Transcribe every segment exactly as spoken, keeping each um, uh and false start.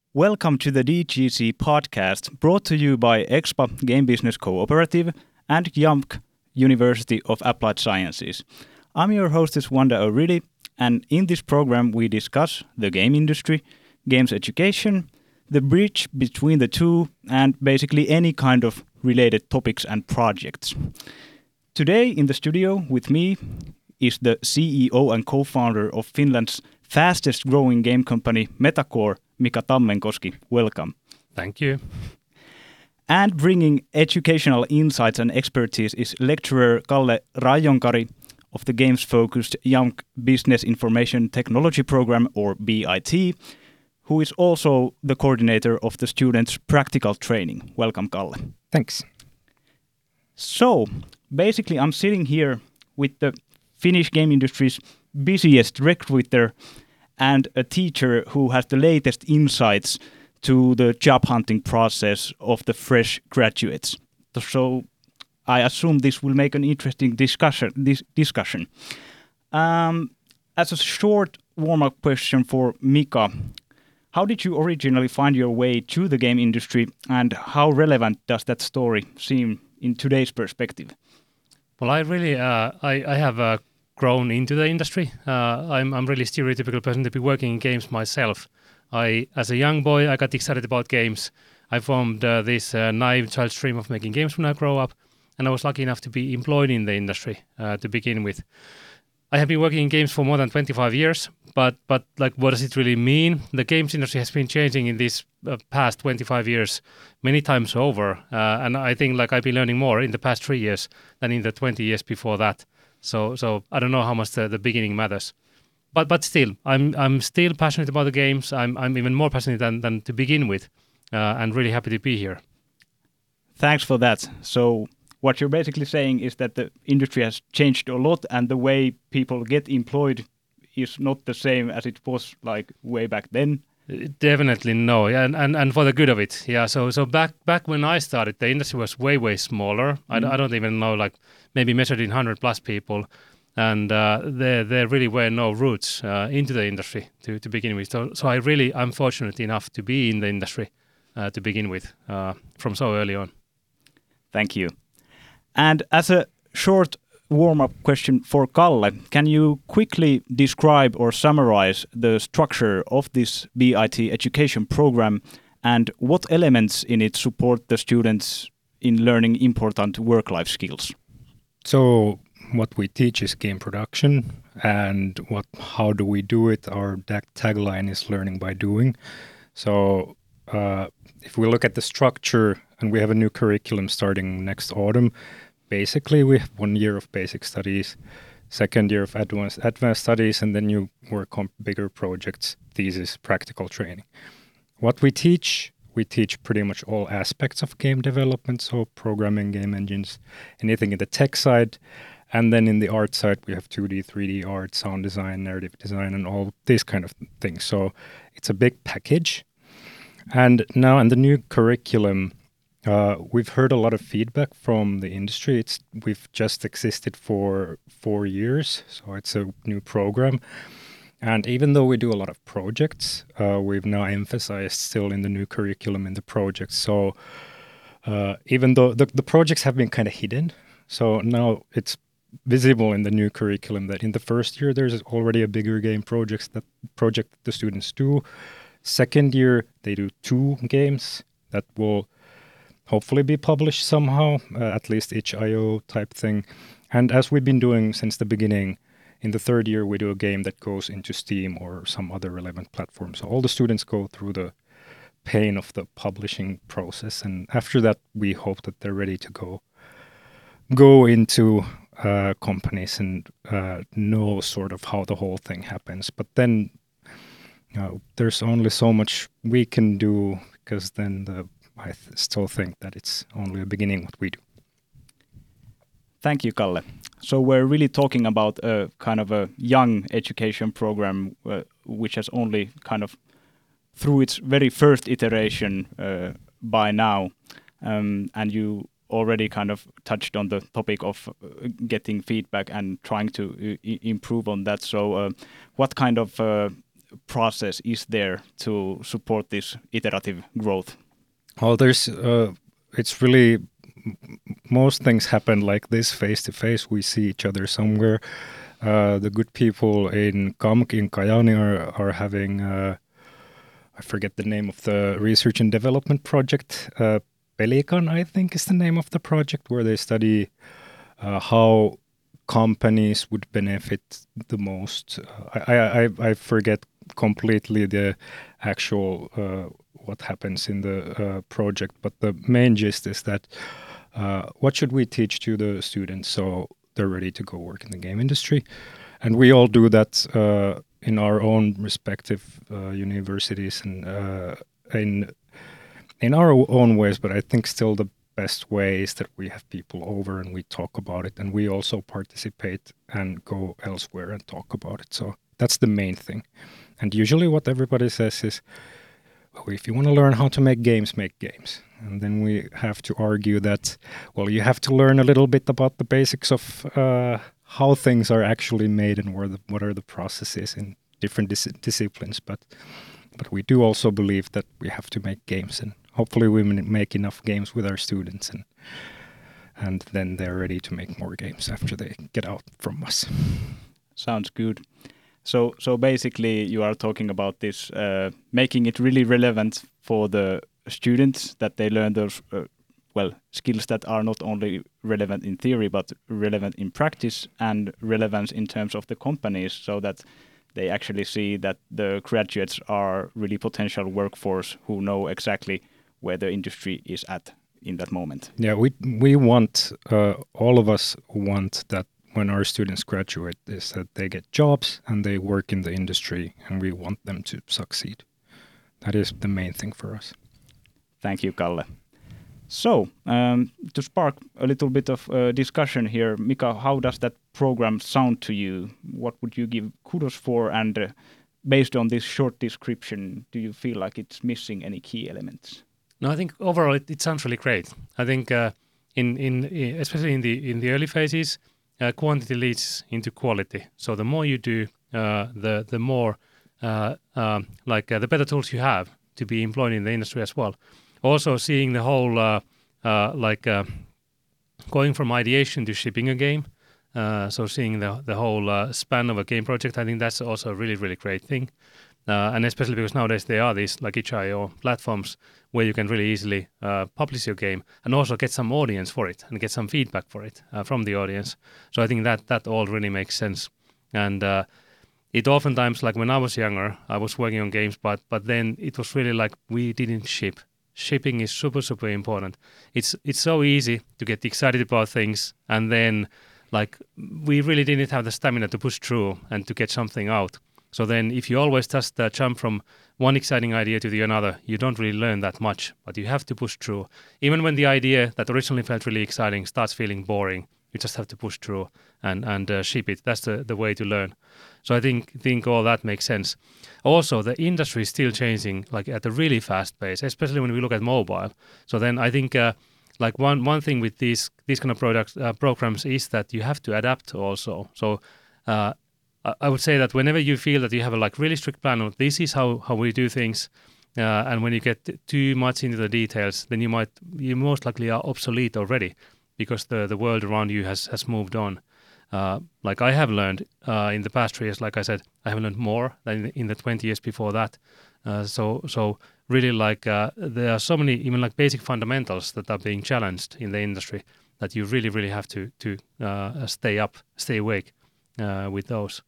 Welcome to the D G C podcast, brought to you by EXPA Game Business Cooperative and Y A M C University of Applied Sciences. I'm your hostess Wanda O'Reilly, and in this program we discuss the game industry, games education, the bridge between the two, and basically any kind of related topics and projects. Today in the studio with me is the C E O and co-founder of Finland's fastest growing game company Metacore, Mika Tammenkoski. Welcome. Thank you. And bringing educational insights and expertise is lecturer Kalle Rajonkari of the games-focused Y A M C Business Information Technology Program, or B I T, who is also the coordinator of the students' practical training. Welcome, Kalle. Thanks. So, basically, I'm sitting here with the Finnish game industry's busiest recruiter and a teacher who has the latest insights to the job hunting process of the fresh graduates. So I assume this will make an interesting discussion. This discussion. Um, as a short warm-up question for Mika, how did you originally find your way to the game industry, and how relevant does that story seem in today's perspective? Well, I really, uh, I, I have uh, grown into the industry. Uh, I'm, I'm really stereotypical person to be working in games myself. I, as a young boy, I got excited about games. I formed uh, this uh, naive child dream of making games when I grow up, and I was lucky enough to be employed in the industry uh, to begin with. I have been working in games for more than twenty-five years, but but like, what does it really mean? The games industry has been changing in these uh, past twenty-five years many times over, uh, and I think like I've been learning more in the past three years than in the twenty years before that. So so I don't know how much the, the beginning matters, but but still, I'm I'm still passionate about the games. I'm I'm even more passionate than than to begin with, uh, and really happy to be here. Thanks for that. So what you're basically saying is that the industry has changed a lot, and the way people get employed is not the same as it was like way back then. Definitely no, yeah, and, and, and for the good of it, yeah. So so back back when I started, the industry was way way smaller. Mm. I, I don't even know, like maybe measured in hundred plus people, and uh, there there really were no roots uh, into the industry to, to begin with. So so I really I'm fortunate enough to be in the industry uh, to begin with uh, from so early on. Thank you. And as a short warm-up question for Kalle, can you quickly describe or summarize the structure of this B I T education program and what elements in it support the students in learning important work-life skills? So what we teach is game production, and what how do we do it? Our tagline is learning by doing. So uh, if we look at the structure, and we have a new curriculum starting next autumn. Basically, we have one year of basic studies, second year of advanced advanced studies, and then you work on bigger projects, thesis, practical training. What we teach, we teach pretty much all aspects of game development, so programming, game engines, anything in the tech side. And then in the art side, we have two D, three D art, sound design, narrative design, and all these kind of things. So it's a big package. And now in the new curriculum, Uh, we've heard a lot of feedback from the industry. It's we've just existed for four years, so it's a new program. And even though we do a lot of projects, uh, we've now emphasized still in the new curriculum in the projects. So uh, even though the, the projects have been kind of hidden, so now it's visible in the new curriculum that in the first year there's already a bigger game projects that project that the students do. Second year they do two games that will hopefully be published somehow, uh, at least itch dot i o type thing. And as we've been doing since the beginning, in the third year we do a game that goes into Steam or some other relevant platform. So all the students go through the pain of the publishing process, and after that we hope that they're ready to go go into uh, companies and uh, know sort of how the whole thing happens. But then uh, there's only so much we can do, because then the I th- still think that it's only a beginning what we do. Thank you, Kalle. So we're really talking about a kind of a young education program uh, which has only kind of through its very first iteration uh, by now. Um, and you already kind of touched on the topic of uh, getting feedback and trying to I- improve on that. So uh, what kind of uh, process is there to support this iterative growth? Well, there's uh, it's really most things happen like this face to face. We see each other somewhere. Uh, the good people in K A M K in Kajaani are are having uh, I forget the name of the research and development project. Uh, Pelikan, I think, is the name of the project, where they study uh, how companies would benefit the most. Uh, I, I I forget completely the actual uh, what happens in the uh, project, but the main gist is that uh, what should we teach to the students so they're ready to go work in the game industry, and we all do that uh, in our own respective uh, universities and uh, in in our own ways. But I think still the best way is that we have people over and we talk about it, and we also participate and go elsewhere and talk about it. So that's the main thing. And usually what everybody says is, well, if you want to learn how to make games, make games. And then we have to argue that, well, you have to learn a little bit about the basics of uh, how things are actually made and where the, what are the processes in different dis- disciplines. But but we do also believe that we have to make games, and hopefully we make enough games with our students, and and then they're ready to make more games after they get out from us. Sounds good. So so basically you are talking about this, uh, making it really relevant for the students, that they learn those, uh, well, skills that are not only relevant in theory, but relevant in practice and relevance in terms of the companies, so that they actually see that the graduates are really potential workforce who know exactly where the industry is at in that moment. Yeah, we we want, uh, all of us want that when our students graduate is that they get jobs and they work in the industry, and we want them to succeed. That is the main thing for us. Thank you, Kalle. So, um, to spark a little bit of uh, discussion here, Mika, how does that program sound to you? What would you give kudos for? And uh, based on this short description, do you feel like it's missing any key elements? No, I think overall it, it sounds really great. I think uh, in, in especially in the in the early phases, uh, quantity leads into quality. So the more you do, uh, the the more uh, uh, like uh, the better tools you have to be employed in the industry as well. Also, seeing the whole uh, uh, like uh, going from ideation to shipping a game. Uh, so seeing the the whole uh, span of a game project, I think that's also a really really great thing. Uh, and especially because nowadays there are these like itch dot i o platforms where you can really easily uh, publish your game and also get some audience for it and get some feedback for it uh, from the audience. So I think that that all really makes sense. And uh, it oftentimes, like when I was younger, I was working on games, but but then it was really like we didn't ship. Shipping is super super important. It's it's so easy to get excited about things, and then like we really didn't have the stamina to push through and to get something out. So then if you always just uh, jump from one exciting idea to the another, you don't really learn that much, but you have to push through. Even when the idea that originally felt really exciting starts feeling boring, you just have to push through and, and uh, ship it. That's the, the way to learn. So I think think all that makes sense. Also, the industry is still changing like at a really fast pace, especially when we look at mobile. So then I think uh, like one, one thing with these these kind of products uh, programs is that you have to adapt also. So uh, I would say that whenever you feel that you have a like really strict plan of this is how, how we do things, uh, and when you get too much into the details, then you might you most likely are obsolete already, because the, the world around you has, has moved on. Uh, like I have learned uh, in the past three years, like I said, I have learned more than in the twenty years before that. Uh, so so really like uh, there are so many even like basic fundamentals that are being challenged in the industry that you really really have to to uh, stay up, stay awake uh, with those.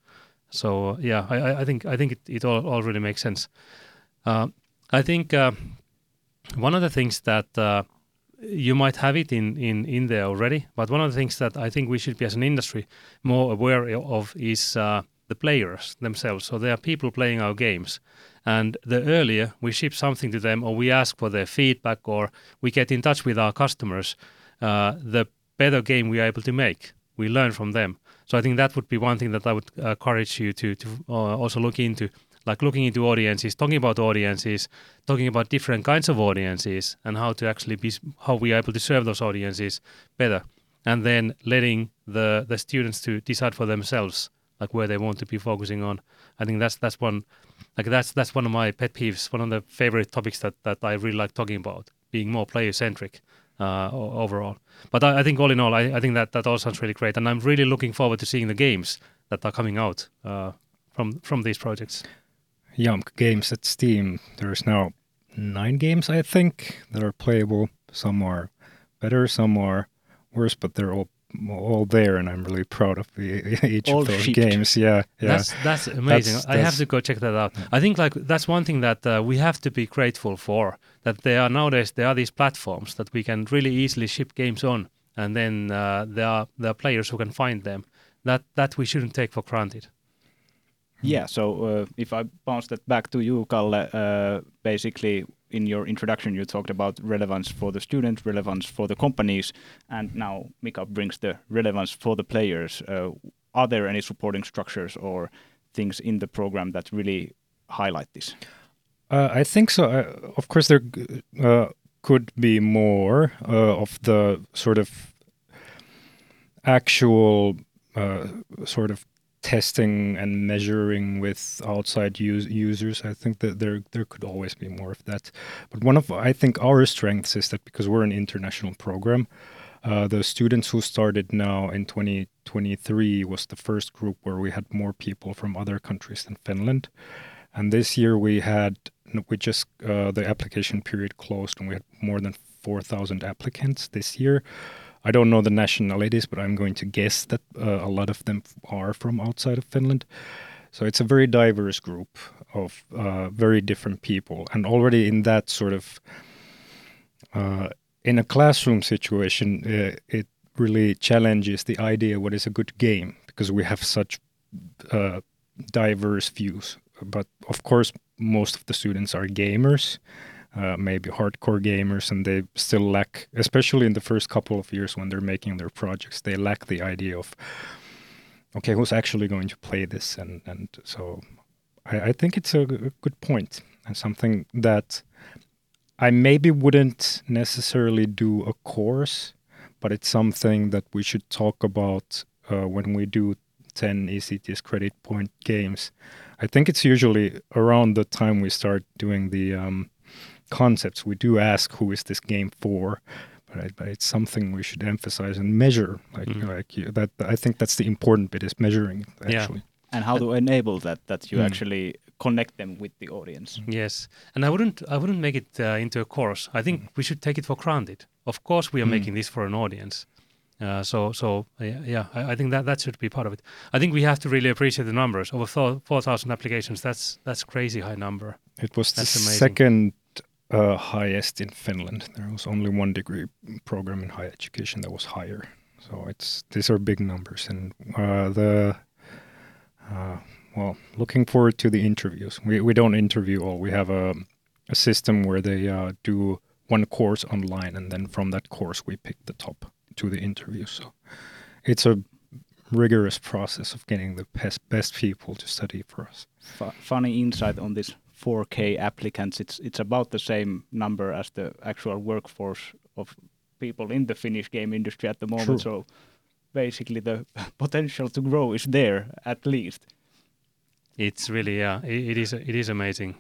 So yeah, I, I think I think it, it all, all really makes sense. Uh, I think uh, one of the things that uh, you might have it in, in, in there already, but one of the things that I think we should be as an industry more aware of is uh, the players themselves. So there are people playing our games, and the earlier we ship something to them or we ask for their feedback or we get in touch with our customers, uh, the better game we are able to make. We learn from them. So I think that would be one thing that I would uh, encourage you to, to uh, also look into, like looking into audiences, talking about audiences, talking about different kinds of audiences and how to actually be, how we are able to serve those audiences better. And then letting the, the students to decide for themselves, like where they want to be focusing on. I think that's that's one Like that's that's one of my pet peeves, one of the favorite topics that, that I really like talking about, being more player-centric uh, o- overall. But I, I think all in all, I, I think that, that all sounds really great. And I'm really looking forward to seeing the games that are coming out uh, from from these projects. Yamk Games at Steam. There's now nine games, I think, that are playable. Some are better, some are worse, but they're all all there, and I'm really proud of the, each All of those shipped. games. Yeah, yeah. That's that's amazing. That's- I have that's- to go check that out. I think like that's one thing that uh, we have to be grateful for. That there are nowadays there are these platforms that we can really easily ship games on, and then uh, there are there are players who can find them. That that we shouldn't take for granted. Yeah, so uh, if I bounce that back to you, Kalle, uh, basically in your introduction you talked about relevance for the students, relevance for the companies, and now Mika brings the relevance for the players. Uh, are there any supporting structures or things in the program that really highlight this? Uh, I think so. Uh, of course, there g- uh, could be more uh, of the sort of actual uh, sort of testing and measuring with outside us- users. I think that there there could always be more of that. But one of I think our strengths is that because we're an international program, uh, the students who started now in twenty twenty-three was the first group where we had more people from other countries than Finland. And this year we had we just uh, the application period closed and we had more than four thousand applicants this year. I don't know the nationalities, but I'm going to guess that uh, a lot of them are from outside of Finland. So it's a very diverse group of uh, very different people. And already in that sort of, uh, in a classroom situation, uh, it really challenges the idea what is a good game, because we have such uh, diverse views. But of course, most of the students are gamers. Uh, maybe hardcore gamers, and they still lack, especially in the first couple of years when they're making their projects, they lack the idea of, okay, who's actually going to play this? And and so I, I think it's a, g- a good point, and something that I maybe wouldn't necessarily do a course, but it's something that we should talk about uh, when we do ten E C T S credit point games. I think it's usually around the time we start doing the um, concepts, we do ask who is this game for, but, I, but it's something we should emphasize and measure. Like, Mm. like you, that, I think that's the important bit is measuring it, Yeah. actually. And how to enable that, that you Mm. actually connect them with the audience. Yes, and I wouldn't I wouldn't make it uh, into a course. I think we should take it for granted. Of course, we are Mm. making this for an audience. Uh, so so yeah, yeah I, I think that that should be part of it. I think we have to really appreciate the numbers. Over four thousand applications. That's that's crazy high number. It was the That's amazing. second uh, highest in Finland. There was only one degree program in higher education that was higher. So it's these are big numbers, and uh, the uh, well, looking forward to the interviews. We we don't interview all. We have a a system where they uh, do one course online, and then from that course we pick the top to the interview. So it's a rigorous process of getting the best best people to study for us. Fu- funny insight on this four K applicants. It's it's about the same number as the actual workforce of people in the Finnish game industry at the moment. True. So basically, the potential to grow is there at least. It's really yeah. It, it is it is amazing.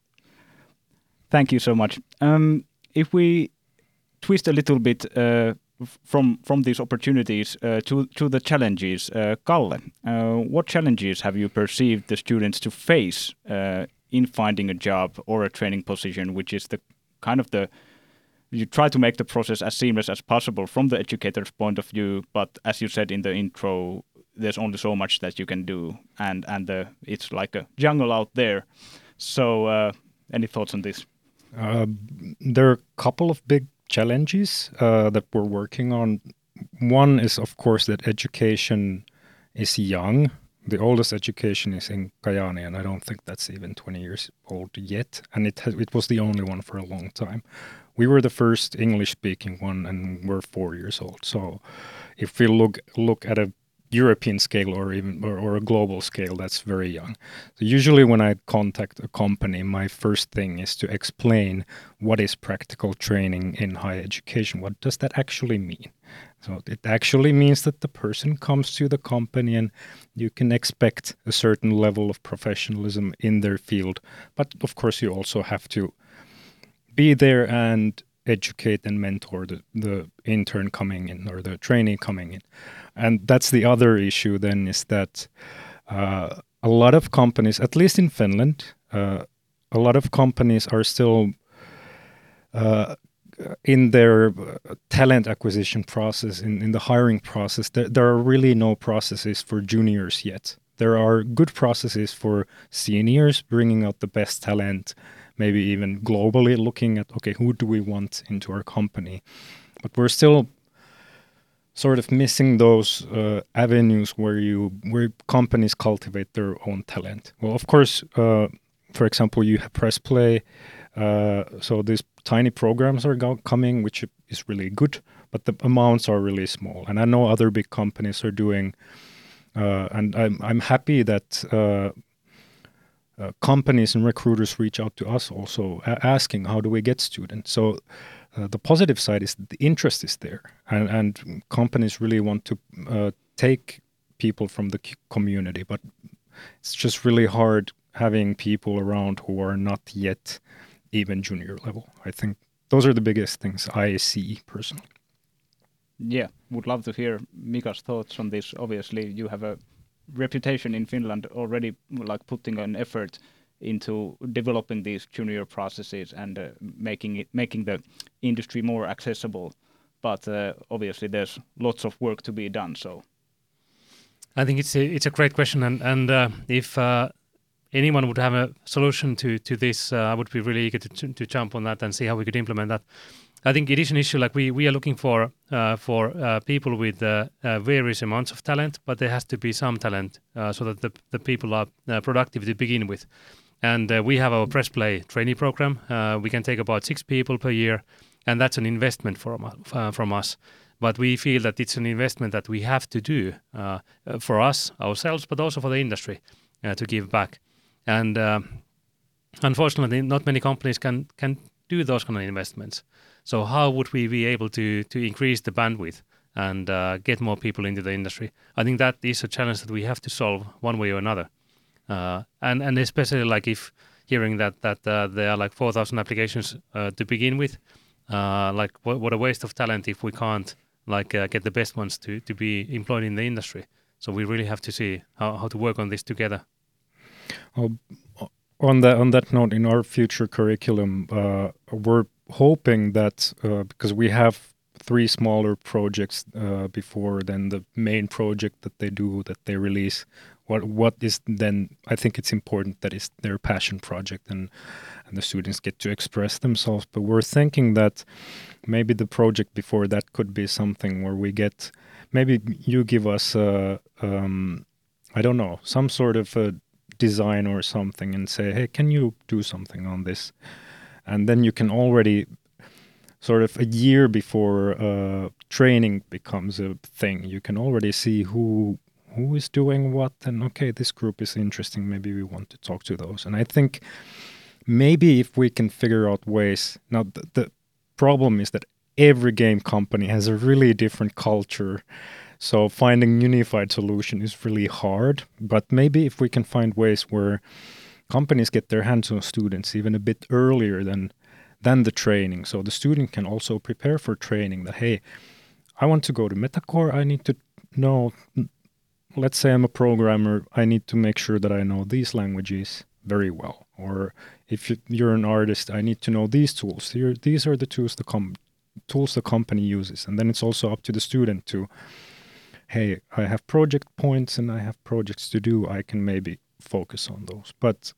Thank you so much. Um, if we twist a little bit uh, f- from from these opportunities uh, to to the challenges, uh, Kalle, uh, what challenges have you perceived the students to face uh, in finding a job or a training position, which is the kind of the you try to make the process as seamless as possible from the educator's point of view, but as you said in the intro, there's only so much that you can do, and and the it's like a jungle out there. So, uh, any thoughts on this? Uh, there are a couple of big challenges uh, that we're working on. One is, of course, that education is young. The oldest education is in Kajaani, and I don't think that's even twenty years old yet. And it has, it was the only one for a long time. We were the first English-speaking one, and we're four years old. So, if we look look at a European scale or even or, or a global scale, that's very young. So usually when I contact a company, my first thing is to explain what is practical training in higher education. What does that actually mean? So it actually means that the person comes to the company and you can expect a certain level of professionalism in their field. But of course, you also have to be there and educate and mentor the, the intern coming in or the trainee coming in. And that's the other issue then, is that uh, a lot of companies, at least in Finland, uh, a lot of companies are still uh, in their uh, talent acquisition process, in, in the hiring process. There, there are really no processes for juniors yet. There are good processes for seniors, bringing out the best talent, maybe even globally looking at, okay, who do we want into our company? But we're still sort of missing those uh, avenues where you where companies cultivate their own talent. Well, of course, uh, for example, you have Press Play. Uh, so these tiny programs are go- coming, which is really good, but the amounts are really small. And I know other big companies are doing, uh, and I'm I'm happy that uh, uh, companies and recruiters reach out to us also a- asking, how do we get students? So uh, the positive side is the interest is there, and, and companies really want to uh, take people from the c- community, but it's just really hard having people around who are not yet even junior level. I think those are the biggest things I see personally. Yeah, would love to hear Mika's thoughts on this. Obviously, you have a reputation in Finland already, like putting an effort into developing these junior processes and uh, making it making the industry more accessible. But uh, obviously, there's lots of work to be done. So, I think it's a, it's a great question, and and uh, if uh, anyone would have a solution to to this, uh, I would be really eager to, to to jump on that and see how we could implement that. I think it is an issue. Like we we are looking for uh, for uh, people with uh, uh, various amounts of talent, but there has to be some talent uh, so that the the people are uh, productive to begin with. And uh, we have our Press Play trainee program. Uh, we can take about six people per year, and that's an investment from uh, from us. But we feel that it's an investment that we have to do uh, for us ourselves, but also for the industry uh, to give back. And uh, unfortunately, not many companies can can do those kind of investments. So how would we be able to to increase the bandwidth and uh, get more people into the industry? I think that is a challenge that we have to solve one way or another. Uh, and and especially like if hearing that that uh, there are like four thousand applications uh, to begin with, uh, like what, what a waste of talent if we can't like uh, get the best ones to to be employed in the industry. So we really have to see how, how to work on this together. Oh, on that on that note, in our future curriculum, uh, we're hoping that uh, because we have three smaller projects uh, before then the main project that they do that they release, what what is then, I think it's important that it's their passion project and and the students get to express themselves. But we're thinking that maybe the project before that could be something where we get, maybe you give us a, um, I don't know, some sort of a design or something and say, hey, can you do something on this? And then you can already sort of a year before uh, training becomes a thing, you can already see who who is doing what, and okay, this group is interesting, maybe we want to talk to those. And I think maybe if we can figure out ways, now the, the problem is that every game company has a really different culture, so finding unified solution is really hard. But maybe if we can find ways where companies get their hands on students even a bit earlier than than the training, so the student can also prepare for training, that hey, I want to go to Metacore, I need to know, let's say I'm a programmer, I need to make sure that I know these languages very well. Or if you're an artist, I need to know these tools. Here, these are the tools the com- tools the company uses. And then it's also up to the student to, hey, I have project points and I have projects to do, I can maybe focus on those. But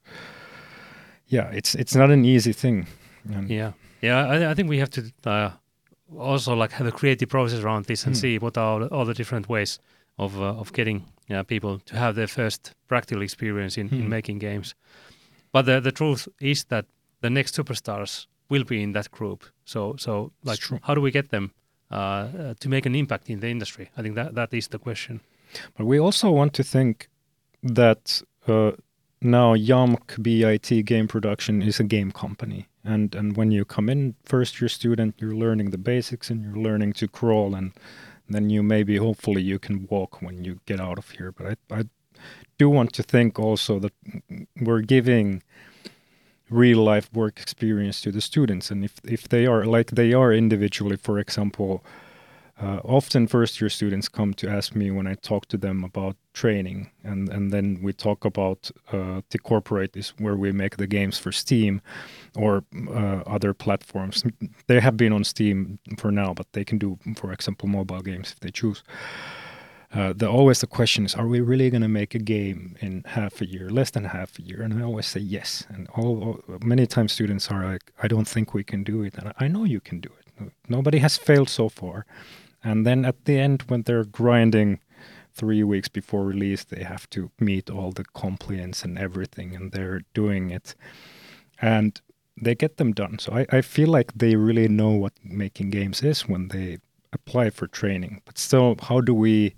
yeah, it's it's not an easy thing. And yeah, yeah. I, I think we have to uh, also like have a creative process around this and Hmm. see what are all the different ways of uh, of getting uh, people to have their first practical experience in, in Hmm. making games. But the the truth is that the next superstars will be in that group. So so like true. how do we get them uh, uh, to make an impact in the industry? I think that that is the question. But we also want to think that uh, now Jamk B I T Game Production is a game company. And and when you come in first year student, you're learning the basics and you're learning to crawl and then you maybe, hopefully, you can walk when you get out of here. But I, I do want to think also that we're giving real life work experience to the students, and if if they are like they are individually, for example, uh, often first year students come to ask me when I talk to them about training, and and then we talk about uh, the corporate is where we make the games for Steam or uh, other platforms. They have been on Steam for now, but they can do, for example, mobile games if they choose. Uh, the always the question is, are we really going to make a game in half a year, less than half a year? And I always say yes. And all, all many times students are like, I don't think we can do it. And I know you can do it. Nobody has failed so far. And then at the end, when they're grinding three weeks before release, they have to meet all the compliance and everything, and they're doing it. And they get them done. So I, I feel like they really know what making games is when they apply for training. But still, how do we...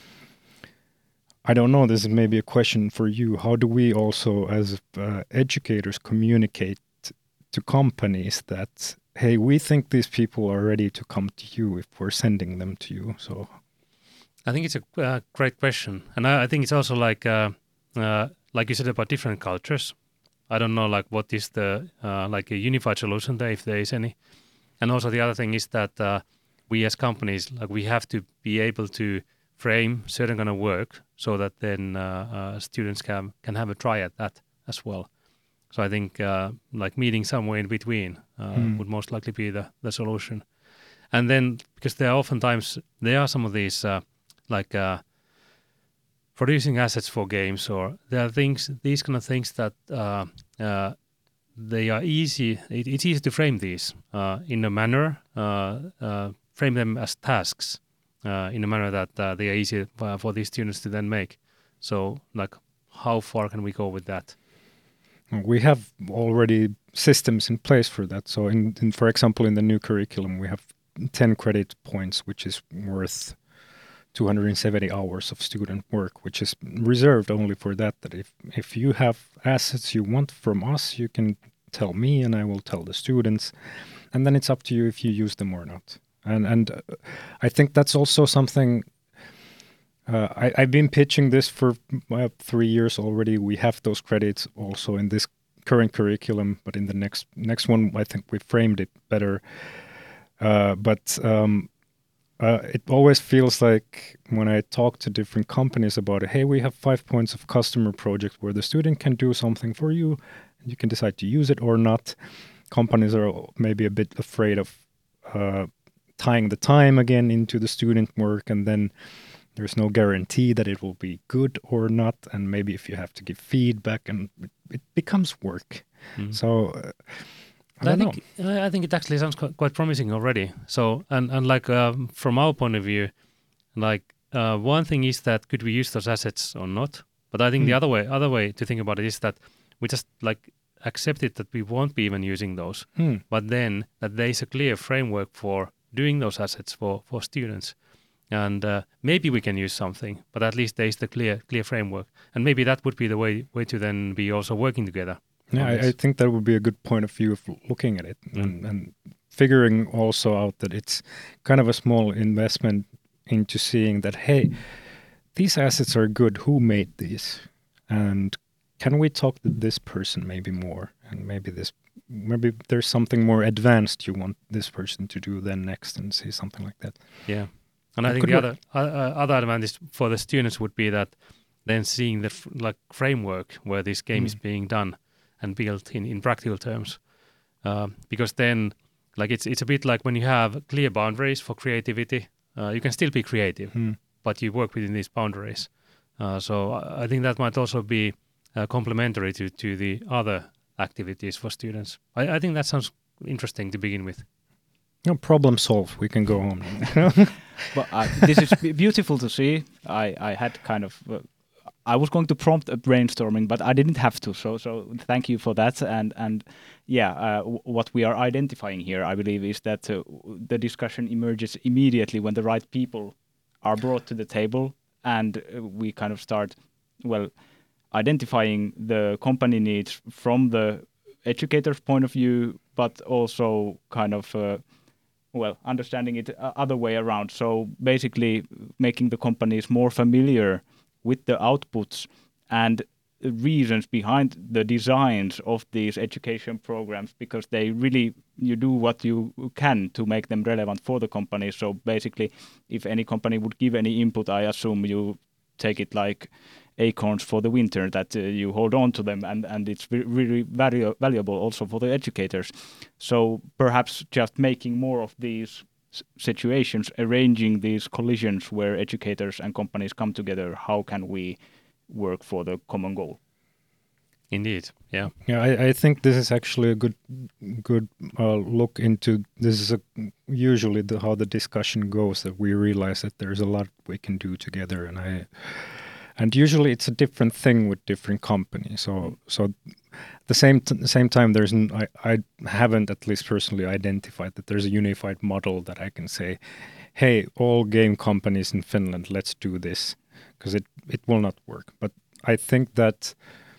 I don't know, this is maybe a question for you. How do we also, as uh, educators, communicate to companies that, hey, we think these people are ready to come to you if we're sending them to you? So, I think it's a uh, great question. And I, I think it's also like, uh, uh, like you said about different cultures. I don't know, like, what is the, uh, like a unified solution there, if there is any. And also the other thing is that uh, we as companies, like, we have to be able to frame certain kind of work so that then uh, uh, students can can have a try at that as well. So I think uh, like meeting somewhere in between uh, mm. would most likely be the, the solution. And then, because there are oftentimes, there are some of these uh, like uh, producing assets for games, or there are things, these kind of things that uh, uh, they are easy, it, it's easy to frame these uh, in a manner, uh, uh, frame them as tasks. Uh, in a manner that uh, they are easy uh, for these students to then make. So, like, how far can we go with that? We have already systems in place for that. So, in, in for example, in the new curriculum, we have ten credit points, which is worth two hundred seventy hours of student work, which is reserved only for that. That if if you have assets you want from us, you can tell me, and I will tell the students, and then it's up to you if you use them or not. And and uh, I think that's also something, uh, I, I've been pitching this for uh, three years already. We have those credits also in this current curriculum, but in the next next one, I think we framed it better. Uh, but um, uh, it always feels like when I talk to different companies about it, hey, we have five points of customer project where the student can do something for you, and you can decide to use it or not. Companies are maybe a bit afraid of uh, tying the time again into the student work, and then there's no guarantee that it will be good or not, and maybe if you have to give feedback, and it, it becomes work. Mm. So uh, I, I don't think know. I think it actually sounds quite, quite promising already. So and and like um, from our point of view, like uh, one thing is that could we use those assets or not? But I think mm. the other way other way to think about it is that we just like accept it that we won't be even using those, mm. but then that there is a clear framework for doing those assets for, for students. And uh, maybe we can use something, but at least there is the clear clear framework. And maybe that would be the way way to then be also working together. Yeah, I, I think that would be a good point of view of looking at it mm. and, and figuring also out that it's kind of a small investment into seeing that, hey, these assets are good. Who made these? And can we talk to this person maybe more? And maybe this maybe there's something more advanced you want this person to do then next, and see something like that. Yeah. And it I think the work. other uh, other advantage for the students would be that then seeing the f- like framework where this game mm. is being done and built in, in practical terms. Uh, because then like it's it's a bit like when you have clear boundaries for creativity, uh, you can still be creative, mm. but you work within these boundaries. Uh, so I think that might also be uh, complementary to, to the other activities for students. I, I think that sounds interesting to begin with. No, problem solved. We can go home. But uh, this is b- beautiful to see. I, I had kind of, uh, I was going to prompt a brainstorming, but I didn't have to. So so thank you for that. And and yeah, uh, w- what we are identifying here, I believe, is that uh, the discussion emerges immediately when the right people are brought to the table, and uh, we kind of start, well, identifying the company needs from the educator's point of view, but also kind of, uh, well, understanding it uh, other way around. So basically making the companies more familiar with the outputs and reasons behind the designs of these education programs, because they really, you do what you can to make them relevant for the company. So basically, if any company would give any input, I assume you take it like acorns for the winter, that uh, you hold on to them, and, and it's re- really valu- valuable also for the educators. So perhaps just making more of these s- situations, arranging these collisions where educators and companies come together, how can we work for the common goal? Indeed, yeah. Yeah, I, I think this is actually a good good uh, look into, this is a, usually the, how the discussion goes, that we realize that there's a lot we can do together, and I and usually it's a different thing with different companies. So so the same t- the same time there's n- I, I haven't at least personally identified that there's a unified model that I can say, hey, all game companies in Finland, let's do this, because it it will not work. But I think that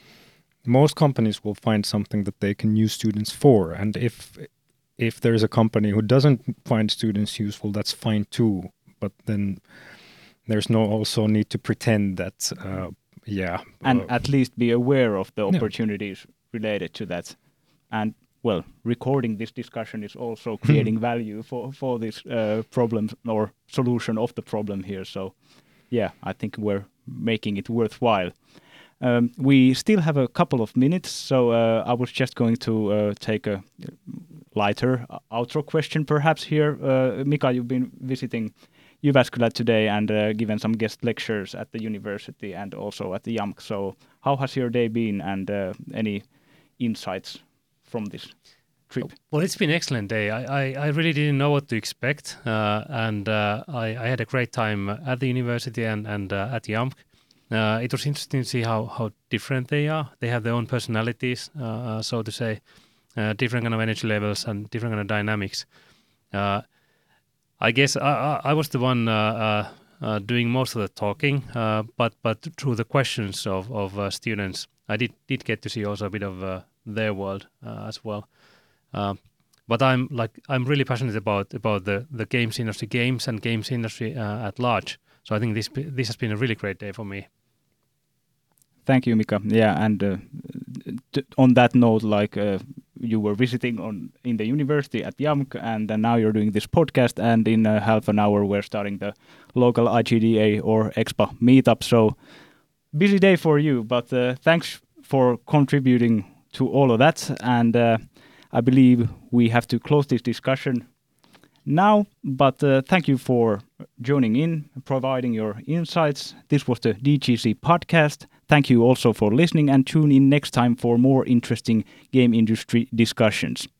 most companies will find something that they can use students for, and if if there's a company who doesn't find students useful, that's fine too. But then there's no also need to pretend that uh, yeah, and uh, at least be aware of the Yeah. opportunities related to that. And well, recording this discussion is also creating value for for this uh, problem or solution of the problem here. So yeah, I think we're making it worthwhile. Um, we still have a couple of minutes, so uh, I was just going to uh, take a lighter uh, outro question perhaps here. Uh, Mika, you've been visiting Jyväskylä today and uh, given some guest lectures at the university and also at the J A M K. So how has your day been, and uh, any insights from this trip? Well, it's been an excellent day. I, I, I really didn't know what to expect, uh, and uh, I, I had a great time at the university and, and uh, at J A M K. Uh, it was interesting to see how, how different they are. They have their own personalities, uh, so to say, uh, different kind of energy levels and different kind of dynamics. Uh, I guess I, I, I was the one uh, uh, uh, doing most of the talking, uh, but but through the questions of, of uh, students, I did, did get to see also a bit of uh, their world uh, as well. Uh, but I'm like I'm really passionate about about the, the games industry, games and games industry uh, at large. So I think this this has been a really great day for me. Thank you, Mika. Yeah, and uh, t- on that note, like uh, you were visiting on in the university at J A M K, and then now you're doing this podcast, and in uh, half an hour we're starting the local I G D A or Expa meetup. So busy day for you, but uh, thanks for contributing to all of that. And uh, I believe we have to close this discussion now, but uh, thank you for joining in, providing your insights. This was the D G C podcast. Thank you also for listening, and tune in next time for more interesting game industry discussions.